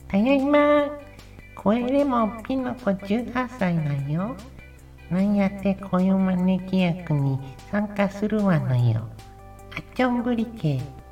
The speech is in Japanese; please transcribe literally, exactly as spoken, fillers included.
ただいま。声でもピノコじゅうはっさいなんよ。なんやって恋招き役に参加するわのよ。あっちょんぶりけ。